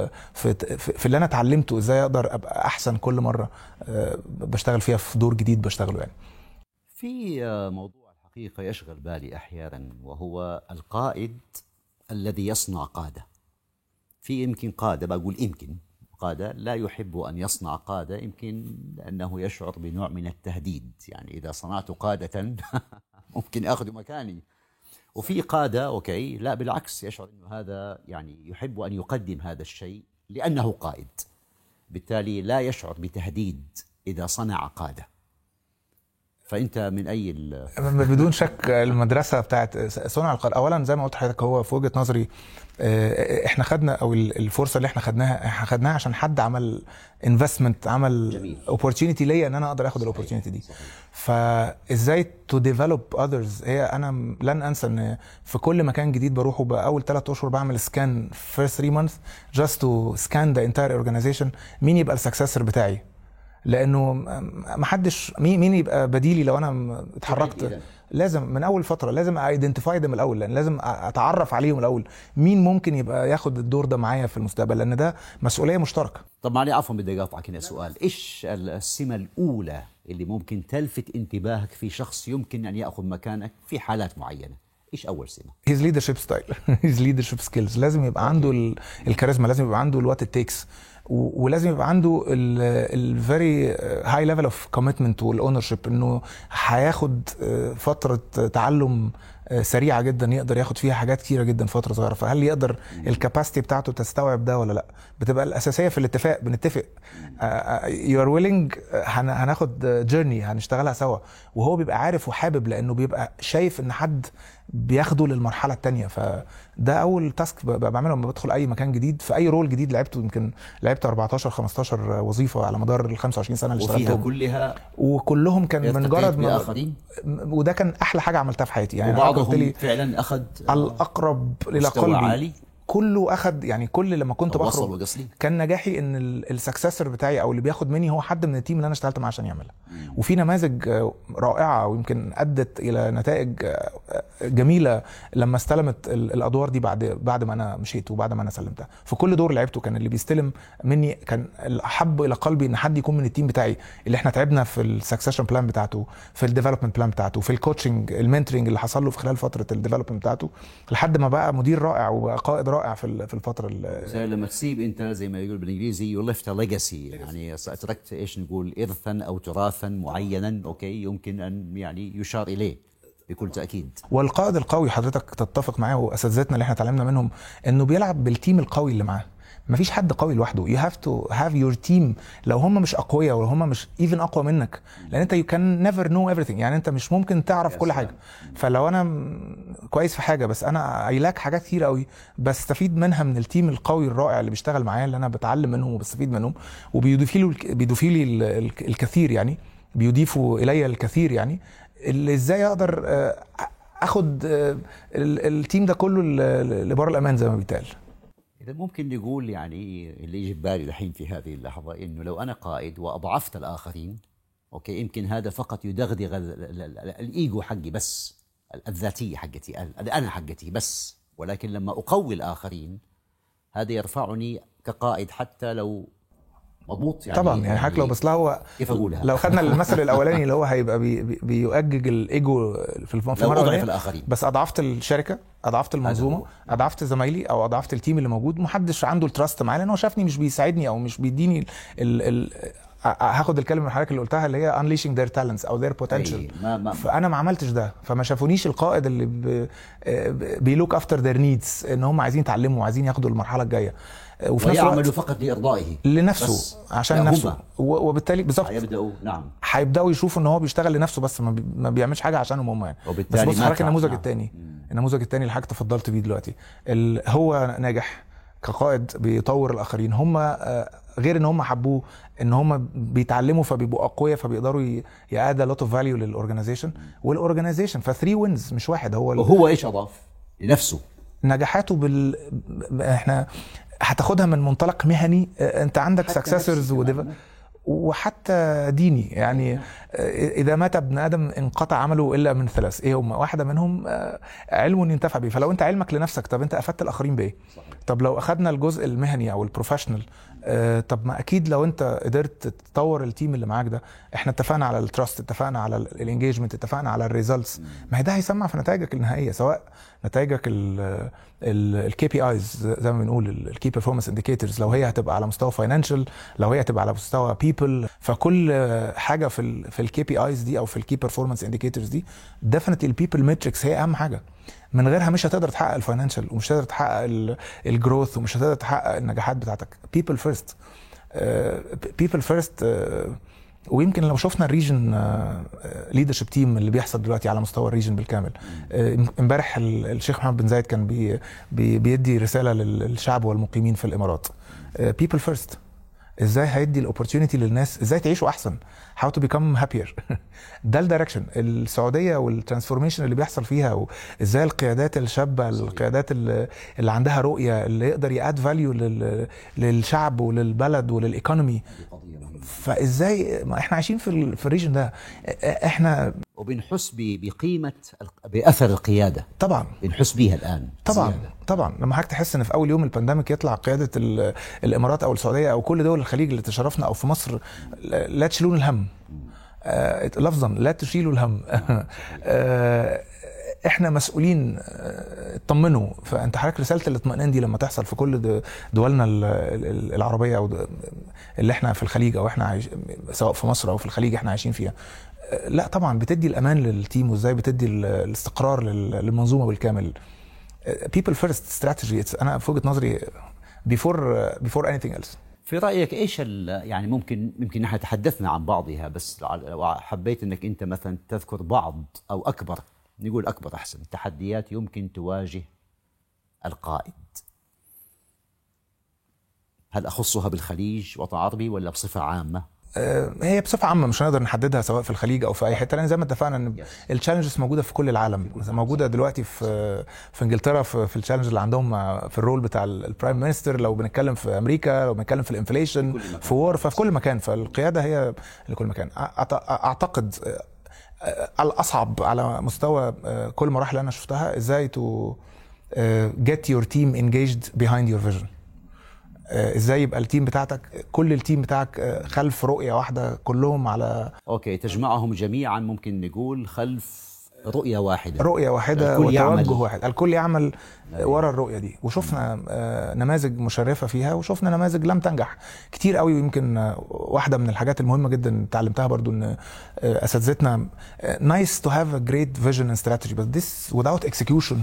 في اللي انا اتعلمته، ازاي اقدر ابقى احسن كل مره بشتغل فيها في دور جديد بشتغله يعني. في موضوع الحقيقة يشغل بالي أحيانا، وهو القائد الذي يصنع قادة. في يمكن قادة، بقول يمكن قادة لا يحب أن يصنع قادة، يمكن لأنه يشعر بنوع من التهديد، يعني إذا صنعت قادة ممكن أخذ مكاني. وفي قادة أوكي لا بالعكس، يشعر أنه هذا يعني يحب أن يقدم هذا الشيء لأنه قائد، بالتالي لا يشعر بتهديد إذا صنع قادة. فانت من اي بدون شك المدرسه بتاعت صنع القادة. اولا زي ما قلت لحضرتك، هو في وجهه نظري احنا خدنا، او الفرصه اللي احنا خدناها عشان حد عمل انفستمنت، عمل اوبورتيونيتي ليا ان انا اقدر اخد الاوبورتيونيتي دي. فازاي تو ديفلوب اذرز، هي انا لن انسى ان في كل مكان جديد بروحه باول 3 اشهر بعمل سكان first 3 months just to scan the entire organization، مين يبقى السكسسور بتاعي، لانه ما حدش مين يبقى بديلي لو انا اتحركت. لازم من اول فتره لازم ايدنتيفاي ده من الاول، لان لازم اتعرف عليهم الاول مين ممكن يبقى ياخد الدور ده معايا في المستقبل، لان ده مسؤوليه مشتركه. طب معلي عفوا بدي اقاطعك هنا سؤال، ايش السمه الاولى اللي ممكن تلفت انتباهك في شخص يمكن ان ياخذ مكانك في حالات معينه؟ ايش اول سمه؟ his leadership style his leadership skills. لازم يبقى عنده الكاريزما، لازم يبقى عنده الوات it takes، ولازم يبقى عنده الفيري هاي ليفل اوف كوميتمنت والاونرشيب، انه هياخد فتره تعلم سريعه جدا يقدر ياخد فيها حاجات كتيره جدا في فتره صغيره. فهل يقدر الكاباسيتي بتاعته تستوعب ده ولا لا؟ بتبقى الاساسيه في الاتفاق، بنتفق يو ار ويلنج، هناخد جيرني هنشتغلها سوا، وهو بيبقى عارف وحابب، لانه بيبقى شايف ان حد بياخده للمرحله الثانيه. فده اول تاسك بعمله لما بدخل اي مكان جديد في اي رول جديد لعبته. يمكن لعبت 14 15 وظيفه على مدار ال 25 سنه اللي اشتغلتهم، وفيها كلها وكلهم كان من مجرد وده كان احلى حاجه عملتها في حياتي يعني. وبعضهم فعلا اخذ الاقرب الى قلبي عالي. كله اخد يعني، كل لما كنت بخرج كان نجاحي ان السكسسور بتاعي او اللي بياخد مني هو حد من التيم اللي انا اشتغلت معاه عشان يعملها. وفي نماذج رائعه ويمكن ادت الى نتائج جميله لما استلمت الادوار دي بعد ما انا مشيت وبعد ما انا سلمتها. في كل دور لعبته كان اللي بيستلم مني كان الاحب الى قلبي ان حد يكون من التيم بتاعي، اللي احنا تعبنا في السكسيشن بلان بتاعته، في الديفلوبمنت بلان بتاعته، في الكوتشنج المنتورنج اللي حصل له في خلال فتره الديفلوبمنت بتاعته، لحد ما بقى مدير رائع وبقى قائد رائع رائع في الفتره لما تسيب انت زي ما يقول بالانجليزي you left a legacy، يعني تركت ايش نقول ارثا او تراثا معينا اوكي يمكن ان يعني يشار اليه بكل تاكيد. والقائد القوي حضرتك تتفق معاه واساتذتنا اللي احنا اتعلمنا منهم انه بيلعب بالتيم القوي اللي معاه. مفيش حد قوي لوحده. you have to have your team. لو هم مش اقوياء ولو هم مش even اقوى منك، لان انت you can never know everything، يعني انت مش ممكن تعرف كل حاجه. فلو انا كويس في حاجه بس انا عيلاك حاجات كتير قوي بستفيد منها من التيم القوي الرائع اللي بيشتغل معايا، اللي انا بتعلم منهم وبستفيد منهم وبيضيفوا لي الكثير، يعني بيضيفوا الي الكثير، يعني اللي ازاي اقدر اخد التيم ده كله لبر الامان زي ما بيتقال. إذا ممكن نقول يعني اللي يجي ببالي الحين في هذه اللحظة إنه لو أنا قائد وأضعفت الآخرين أوكي يمكن هذا فقط يدغدغ الإيجو حقي بس، الذاتية حقتي أنا حقتي بس، ولكن لما أقوي الآخرين هذا يرفعني كقائد حتى لو مضبوط يعني. طبعا يعني حضرتك لو بس هو كيف اقولها، لو خدنا المثل الاولاني اللي هو هيبقى بيؤجج الايجو في المره الاولانيه، بس اضعفت الشركه، اضعفت المنظومه، اضعفت زمايلي او اضعفت التيم اللي موجود، محدش عنده التراست معايا لان هو شافني مش بيساعدني او مش بيديني هاخد الكلمه من حضرتك اللي قلتها اللي هي unleashing their talents او their potential. فانا ما عملتش ده، فما شافونيش القائد اللي بيلوك افتر their needs، ان هم عايزين يتعلموا وعايزين ياخدوا المرحله الجايه ويعملوا فقط لإرضائه لنفسه عشان نفسه، وبالتالي بالظبط هيبداوا يشوفوا ان هو بيشتغل لنفسه بس ما بيعملش حاجه عشانهم هم يعني. بس بص حضرتك النموذج الثاني، النموذج الثاني اللي حضرتك تفضلت بيه دلوقتي، هو ناجح كقائد بيطور الاخرين، هم غير ان هم حبوه ان هم بيتعلموا فبيبقوا اقوياء فبيقدروا يأدوا لوت اوف فاليو للاورجنايزيشن والأورجنايزيشن. ف3 وينز مش واحد. وهو ايش اضاف لنفسه؟ نجاحاته احنا هتاخدها من منطلق مهني، انت عندك سكسسورز وحتى ديني، يعني اذا مات ابن ادم انقطع عمله الا من 3، ايه هم؟ واحده منهم علم ينتفع به. فلو انت علمك لنفسك، طب انت افدت الاخرين بايه؟ طب لو اخذنا الجزء المهني او البروفيشنال، طب ما اكيد لو انت قدرت تطور التيم اللي معاك ده، احنا اتفقنا على التراست، اتفقنا على الانجيجمنت، اتفقنا على الريزلتس، ما هي ده هيسمع في نتائجك النهائيه، سواء نتائجك الكي بي ايز زي ما بنقول الكي بيرفورمانس انديكيتورز، لو هي هتبقى على مستوى فاينانشال، لو هي هتبقى على مستوى بيبل، فكل حاجه في الكي بي ايز دي او في الكي بيرفورمانس انديكيتورز دي ديفينتلي البيبل ماتريكس هي اهم حاجه. من غيرها مش هتقدر تحقق الفاينانشال ومش هتقدر تحقق الجروث ومش هتقدر تحقق النجاحات بتاعتك. people first people first. ويمكن لو شفنا الريجن ليدرشيب تيم اللي بيحصل دلوقتي على مستوى الريجن بالكامل، امبارح الشيخ محمد بن زايد كان بيدي رساله للشعب والمقيمين في الامارات، people first. ازاي هيدي الاوبورتيونيتي للناس ازاي تعيشوا احسن، how to become happier. ده الدايركشن السعوديه والترانسفورميشن اللي بيحصل فيها، وازاي القيادات الشابه، القيادات اللي عندها رؤيه، اللي يقدر ياد فاليو للشعب وللبلد وللايكونومي. فازاي ما احنا عايشين في الريجن ده، احنا وبنحس بقيمه باثر القياده. طبعا بنحس بيها الان طبعا لما حضرتك تحس ان في اول يوم البانديميك يطلع قياده الامارات او السعوديه او كل دول الخليج اللي تشرفنا او في مصر، لا تشيلون الهم، لفظا لا تشيلوا الهم. احنا مسؤولين، اطمنوا. فانت حضرتك رساله الاطمئنان دي لما تحصل في كل دولنا العربيه او اللي احنا في الخليج او احنا سواء في مصر او في الخليج احنا عايشين فيها، لا طبعا بتدي الامان للتيم، وازاي بتدي الاستقرار للمنظومه بالكامل. people first strategy. انا في وجهه نظري before anything else. في رايك ايش يعني ممكن نحن تحدثنا عن بعضها، بس حبيت انك انت مثلا تذكر بعض او اكبر، نقول اكبر احسن، تحديات يمكن تواجه القائد. هل اخصها بالخليج وطن عربي ولا بصفه عامه؟ هي بصفه عامه مش هنقدر نحددها سواء في الخليج او في اي حته، لان زي ما اتفقنا ان التشالنجز موجوده في كل العالم، موجوده دلوقتي في انجلترا في التشالنج اللي عندهم في الرول بتاع البرايم مينستر، لو بنتكلم في امريكا، لو بنتكلم في الانفليشن، في وور، ففي كل مكان. فالقياده هي لكل مكان. اعتقد الاصعب على مستوى كل المراحل اللي انا شفتها ازاي to get your team engaged behind your vision. ازاي يبقى التيم بتاعتك، كل التيم بتاعك خلف رؤية واحدة، كلهم على اوكي، تجمعهم جميعا، ممكن نقول خلف رؤية واحدة، رؤية واحدة الكل يعمل. وتوجه واحد، الكل يعمل ورا الرؤية دي. وشفنا نماذج مشرفة فيها، وشفنا نماذج لم تنجح كتير قوي. ويمكن واحدة من الحاجات المهمة جدا تعلمتها برضو ان اساتذتنا nice to have a great vision and strategy but this without execution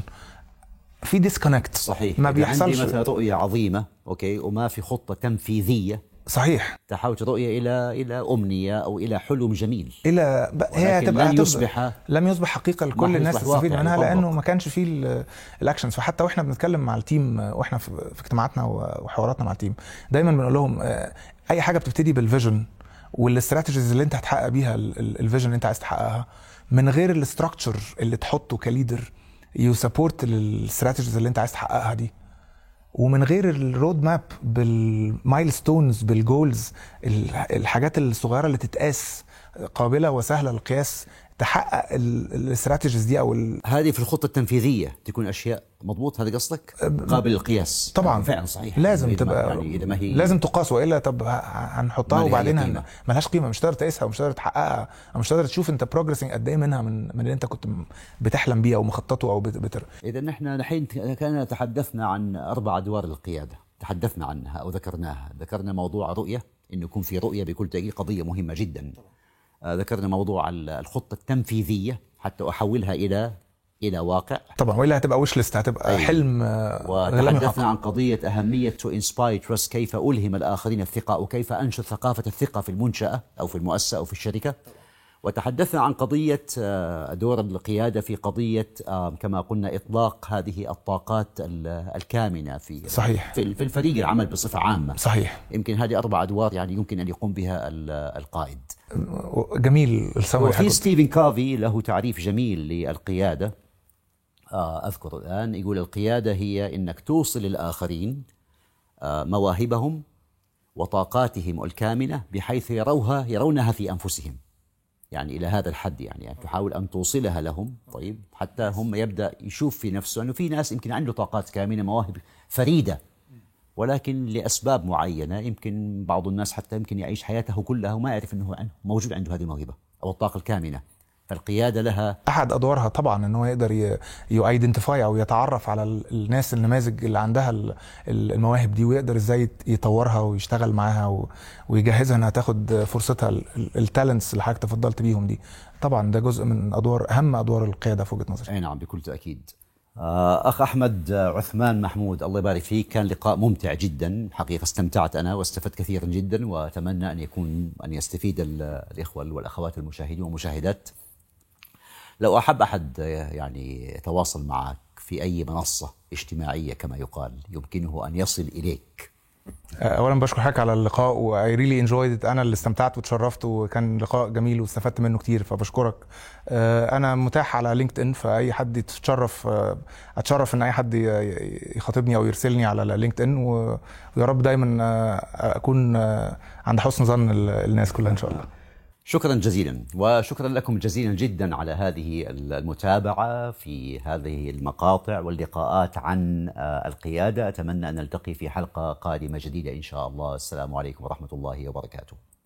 في disconnect. صحيح. ما بيحصلش. عندي مثلا رؤية عظيمة اوكي وما في خطة تنفيذية، صحيح، تحولت رؤية إلى أمنية أو إلى حلم جميل، هي هتبقى لم يصبح حقيقة لكل الناس تستفيد منها، لأنه ما كانش فيه الأكشنز. فحتى وإحنا بنتكلم مع التيم، وإحنا في اجتماعاتنا وحواراتنا مع التيم، دايما بنقول لهم أي حاجة بتبتدي بالفيجن والاستراتيجيز اللي أنت هتحقق بيها الفيجن اللي أنت عايز تحققها، من غير الاستراكشر اللي تحطه كليدر يو سبورت الاستراتيجيز اللي أنت عايز تحققها دي، ومن غير الرود ماب بالمايلستونز بالجولز، الحاجات الصغيره اللي تتقاس قابله وسهله للقياس، تحقق الاستراتيجيز دي او هذه في الخطه التنفيذيه تكون اشياء مضبوط. هذا قصدك قابل للقياس طبعا. فعلا صحيح، لازم تبقى يعني إذا ما هي لازم تقاس، والا طب هنحطها وبعدين ملهاش قيمه، مش هتقدر تقيسها ومش هتقدر تحققها، او مش هتقدر تشوف انت بروجريسنج قد ايه منها من اللي انت كنت بتحلم بيه او مخططه او اذا نحن الحين كان تحدثنا عن 4 أدوار القياده، تحدثنا عنها او ذكرنا موضوع رؤيه، انه يكون في رؤيه بكل تاكيد قضيه مهمه جدا. ذكرنا موضوع الخطه التنفيذيه حتى احولها الى واقع طبعا، والا هتبقى ويش ليست، هتبقى حلم. وتحدثنا عن قضيه اهميه تو انسباير تراست، كيف الهم الاخرين الثقه وكيف انشر ثقافه الثقه في المنشاه او في المؤسسه او في الشركه. وتحدثنا عن قضيه دور القياده في قضيه كما قلنا اطلاق هذه الطاقات الكامنه في صحيح في الفريق العمل بصفه عامه. صحيح. يمكن هذه 4 أدوار يعني يمكن ان يقوم بها القائد. جميل السمري. وفي ستيفن كوفي له تعريف جميل للقياده، أذكر الآن، يقول القيادة هي أنك توصل للآخرين مواهبهم وطاقاتهم الكامنة بحيث يرونها في أنفسهم، يعني إلى هذا الحد، يعني تحاول أن توصلها لهم. طيب حتى هم يبدأ يشوف في نفسه أنه في ناس يمكن عنده طاقات كامنة، مواهب فريدة، ولكن لأسباب معينة يمكن بعض الناس حتى يمكن يعيش حياته كلها وما يعرف أنه موجود عنده هذه الموهبة أو الطاقة الكامنة. فالقيادة لها أحد أدوارها طبعا أنه يقدر يايدنتيفاي أو يتعرف على الناس النماذج اللي عندها المواهب دي، ويقدر إزاي يطورها ويشتغل معاها ويجهزها أنها تاخد فرصتها، التالنتس اللي حضرتك تفضلت بيهم دي. طبعا ده جزء من أهم أدوار القيادة في وجهة نظري. أي نعم بكل تأكيد. أخ أحمد عثمان محمود، الله يبارك فيك، كان لقاء ممتع جدا حقيقة، استمتعت أنا واستفدت كثيرا جدا، وأتمنى أن يستفيد الإخوة والأخوات المشاهدين والمشاهدات. لو أحب أحد يعني يتواصل معك في أي منصة اجتماعية كما يقال، يمكنه أن يصل إليك. أولا بشكر حضرتك على اللقاء، و I really enjoyed it. أنا اللي استمتعت وتشرفت، وكان لقاء جميل واستفدت منه كتير، فبشكرك. أنا متاح على لينكد إن، فأي حد أتشرف إن أي حد يخاطبني أو يرسلني على لينكد إن، ويا رب دايما أكون عند حسن ظن الناس كلها إن شاء الله. شكرا جزيلا، وشكرا لكم جزيلا جدا على هذه المتابعة في هذه المقاطع واللقاءات عن القيادة. أتمنى أن نلتقي في حلقة قادمة جديدة إن شاء الله. السلام عليكم ورحمة الله وبركاته.